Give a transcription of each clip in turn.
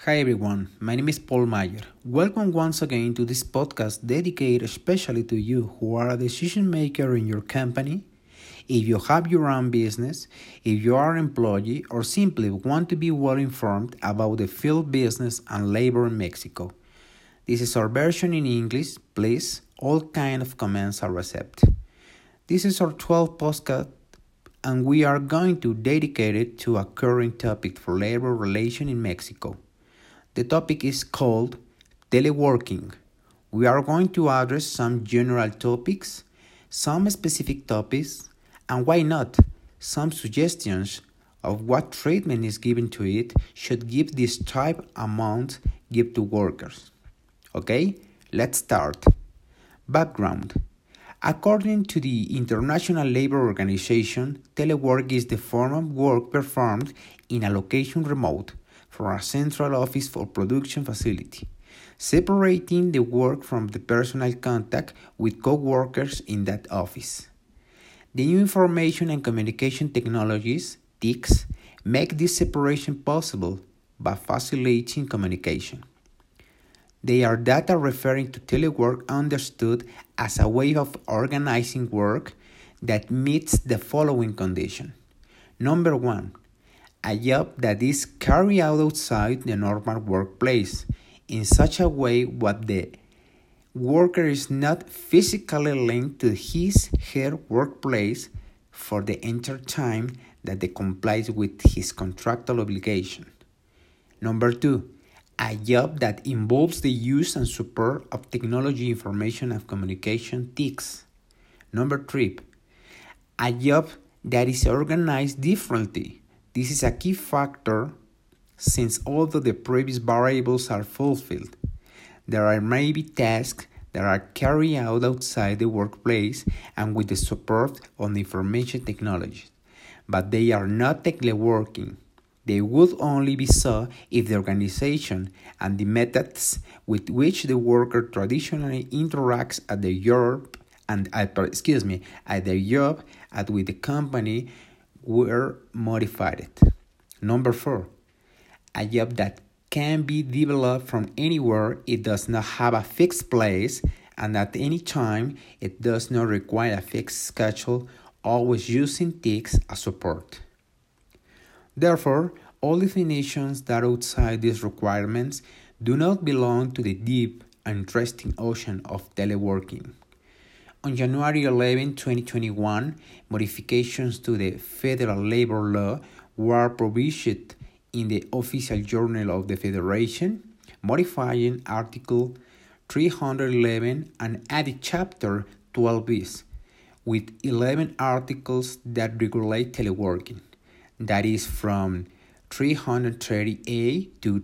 Hi everyone, my name is Paul Mayer. Welcome once again to this podcast dedicated especially to you who are a decision maker in your company. If you have your own business, if you are an employee, or simply want to be well informed about the field business and labor in Mexico. This is our version in English. Please, all kind of comments are accepted. This is our 12th podcast and we are going to dedicate it to a current topic for labor relation in Mexico. The topic is called teleworking. We are going to address some general topics, some specific topics, and why not, some suggestions of what treatment is given to it should give this type amount give to workers. Okay, let's start. Background. According to the International Labour Organization, telework is the form of work performed in a location remote from a central office or production facility, separating the work from the personal contact with co-workers in that office. The new information and communication technologies, TICs, make this separation possible by facilitating communication. They are data referring to telework understood as a way of organizing work that meets the following condition. Number 1. A job that is carried out outside the normal workplace in such a way that the worker is not physically linked to her workplace for the entire time that they complies with his contractual obligation. Number 2. A job that involves the use and support of technology, information, and communication TICs. Number 3. A job that is organized differently. This is a key factor since although the previous variables are fulfilled, there are maybe tasks that are carried out outside the workplace and with the support of the information technology, but they are not teleworking. They would only be so if the organization and the methods with which the worker traditionally interacts at the job and at the job and with the company were modified. Number 4. A job that can be developed from anywhere. It does not have a fixed place and at any time it does not require a fixed schedule, always using TICs as support. Therefore, all definitions that are outside these requirements do not belong to the deep and interesting ocean of teleworking. On January 11, 2021, modifications to the Federal Labor Law were published in the Official Journal of the Federation, modifying Article 311 and added Chapter 12bis, with 11 articles that regulate teleworking. That is from 330A to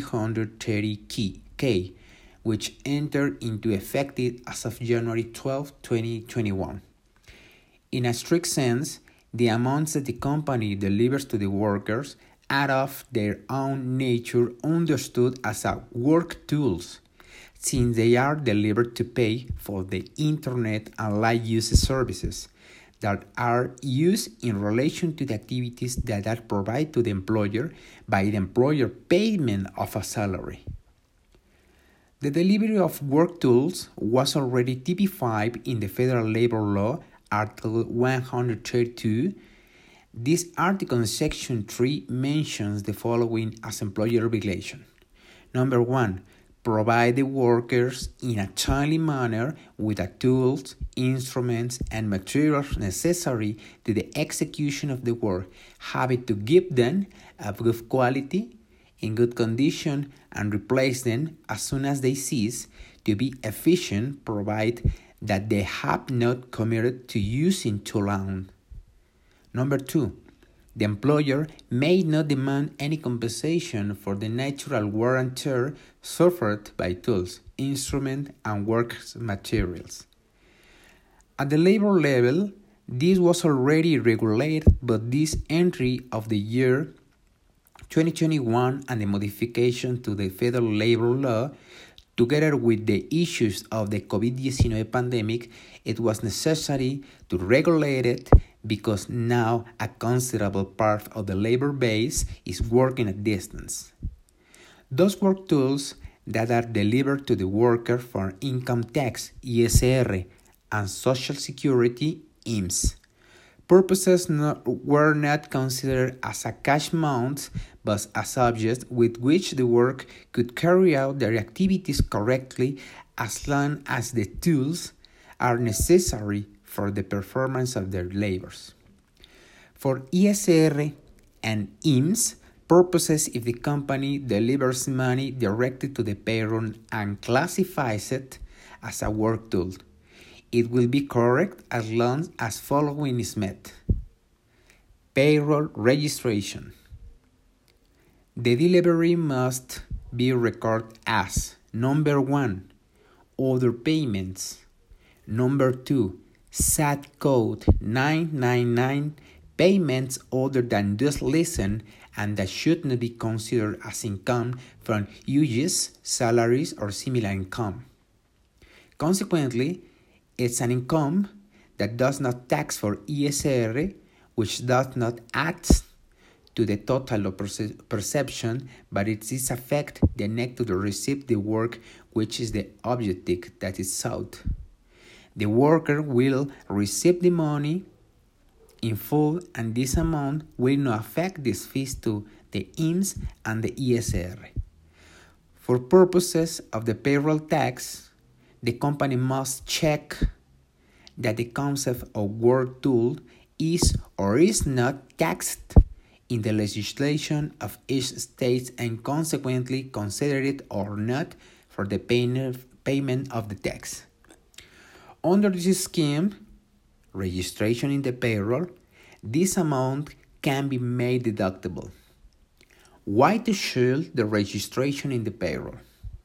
330K, which entered into effect as of January 12, 2021. In a strict sense, the amounts that the company delivers to the workers are of their own nature understood as work tools, since they are delivered to pay for the internet and light use services that are used in relation to the activities that are provided to the employer by the employer payment of a salary. The delivery of work tools was already typified in the Federal Labor Law, Article 132. This article in Section 3 mentions the following as employer obligation. Number 1. Provide the workers in a timely manner with the tools, instruments, and materials necessary to the execution of the work, having to give them of good quality, in good condition, and replace them as soon as they cease to be efficient, provided that they have not committed to using too long. Number 2. The employer may not demand any compensation for the natural wear and tear suffered by tools, instruments, and work materials. At the labor level, this was already regulated, but this entry of the year 2021 and the modification to the Federal Labor Law, together with the issues of the COVID-19 pandemic, it was necessary to regulate it because now a considerable part of the labor base is working at distance. Those work tools that are delivered to the worker for income tax, ISR, and Social Security, IMSS. Purposes were not considered as a cash amount, but as objects with which the work could carry out their activities correctly as long as the tools are necessary for the performance of their labors. For ISR and IMSS purposes, if the company delivers money directly to the payroll and classifies it as a work tool, it will be correct as long as following is met. Payroll registration. The delivery must be recorded as number 1, other payments, number 2, SAT code 999, payments other than just listen and that should not be considered as income from wages, salaries, or similar income. Consequently, it's an income that does not tax for ISR, which does not add to the total of perception, but it is effect the net to the receipt the work, which is the objective that is sought. The worker will receive the money in full, and this amount will not affect these fees to the IMSS and the ISR. For purposes of the payroll tax, the company must check that the concept of work tool is or is not taxed in the legislation of each state and consequently consider it or not for the payment of the tax. Under this scheme, registration in the payroll, this amount can be made deductible. Why to shield the registration in the payroll?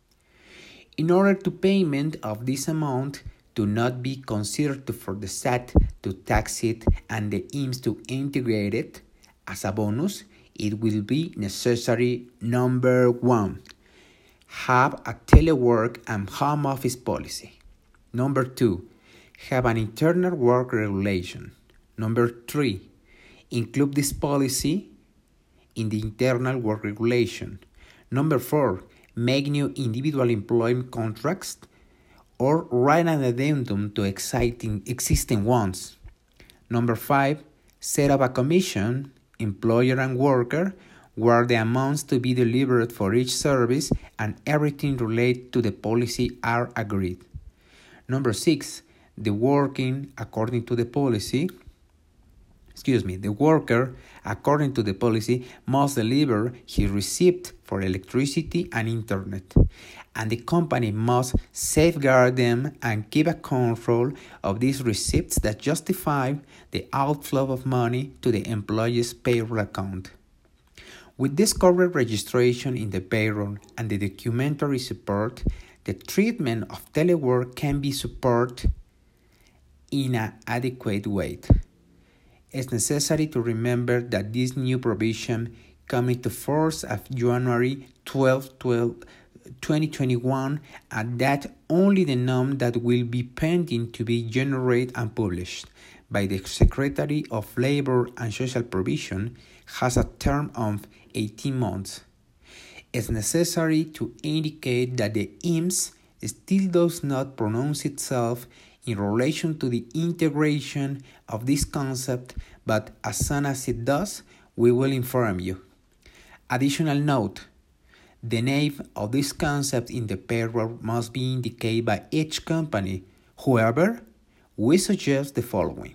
In order to payment of this amount to not be considered for the SAT to tax it and the IMSS to integrate it as a bonus, it will be necessary, number 1, have a telework and home office policy. Number 2, have an internal work regulation. Number 3, include this policy in the internal work regulation. Number 4, make new individual employment contracts or write an addendum to existing ones. Number 5, set up a commission, employer and worker, where the amounts to be delivered for each service and everything related to the policy are agreed. Number 6, the worker, according to the policy, must deliver his receipt for electricity and internet, and the company must safeguard them and keep a control of these receipts that justify the outflow of money to the employee's payroll account. With this correct registration in the payroll and the documentary support, the treatment of telework can be supported in an adequate way. It's necessary to remember that this new provision came into force of January 12, 2021, and that only the norm that will be pending to be generated and published by the Secretary of Labor and Social Provision has a term of 18 months. It's necessary to indicate that the IMSS still does not pronounce itself in relation to the integration of this concept, but as soon as it does, we will inform you. Additional note, the name of this concept in the payroll must be indicated by each company. However, we suggest the following.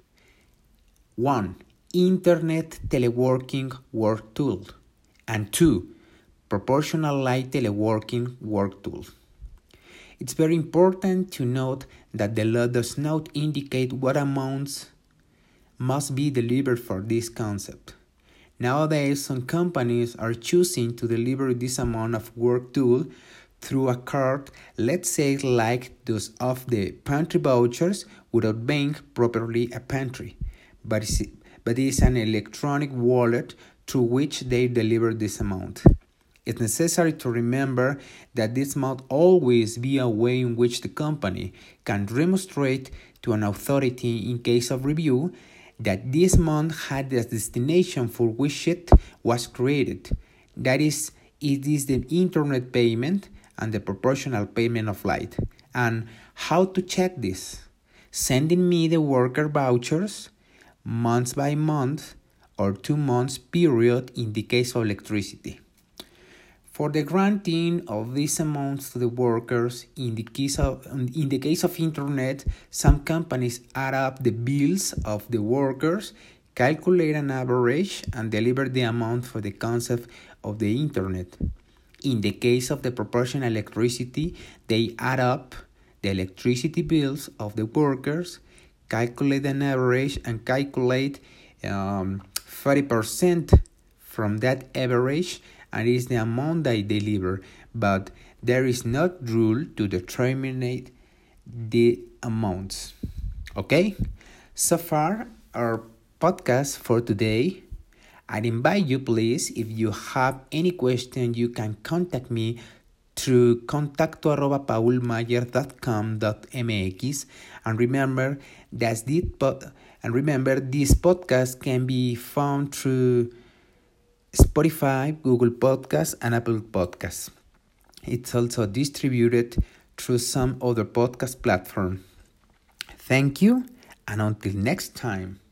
1. Internet teleworking work tool. And 2. Proportional light teleworking work tool. It's very important to note that the law does not indicate what amounts must be delivered for this concept. Nowadays, some companies are choosing to deliver this amount of work tool through a card, let's say like those of the pantry vouchers, without being properly a pantry, but it is an electronic wallet through which they deliver this amount. It's necessary to remember that this must always be a way in which the company can demonstrate to an authority in case of review that this amount had the destination for which it was created. That is, It is the internet payment and the proportional payment of light. And how to check this? Sending me the worker vouchers month by month or 2 months period in the case of electricity. For the granting of these amounts to the workers, in the case of internet, some companies add up the bills of the workers, calculate an average, and deliver the amount for the concept of the internet. In the case of the proportional electricity, they add up the electricity bills of the workers, calculate an average, and calculate 30% from that average, and is the amount they deliver. But there is no rule to determine the amounts. Okay? So far, our podcast for today. I invite you, please, if you have any question, you can contact me through contacto@paulmayer.com.mx. And remember this podcast can be found through Spotify, Google Podcasts, and Apple Podcasts. It's also distributed through some other podcast platform. Thank you, and until next time.